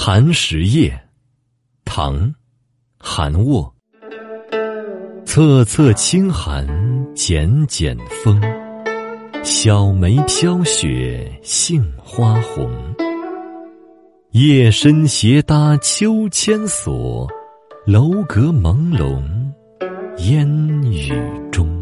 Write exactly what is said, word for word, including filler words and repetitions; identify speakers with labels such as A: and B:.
A: 寒食夜，唐·韩沃。侧侧清寒，剪剪风。小梅飘雪，杏花红。夜深斜搭秋千索，楼阁朦胧，烟雨中。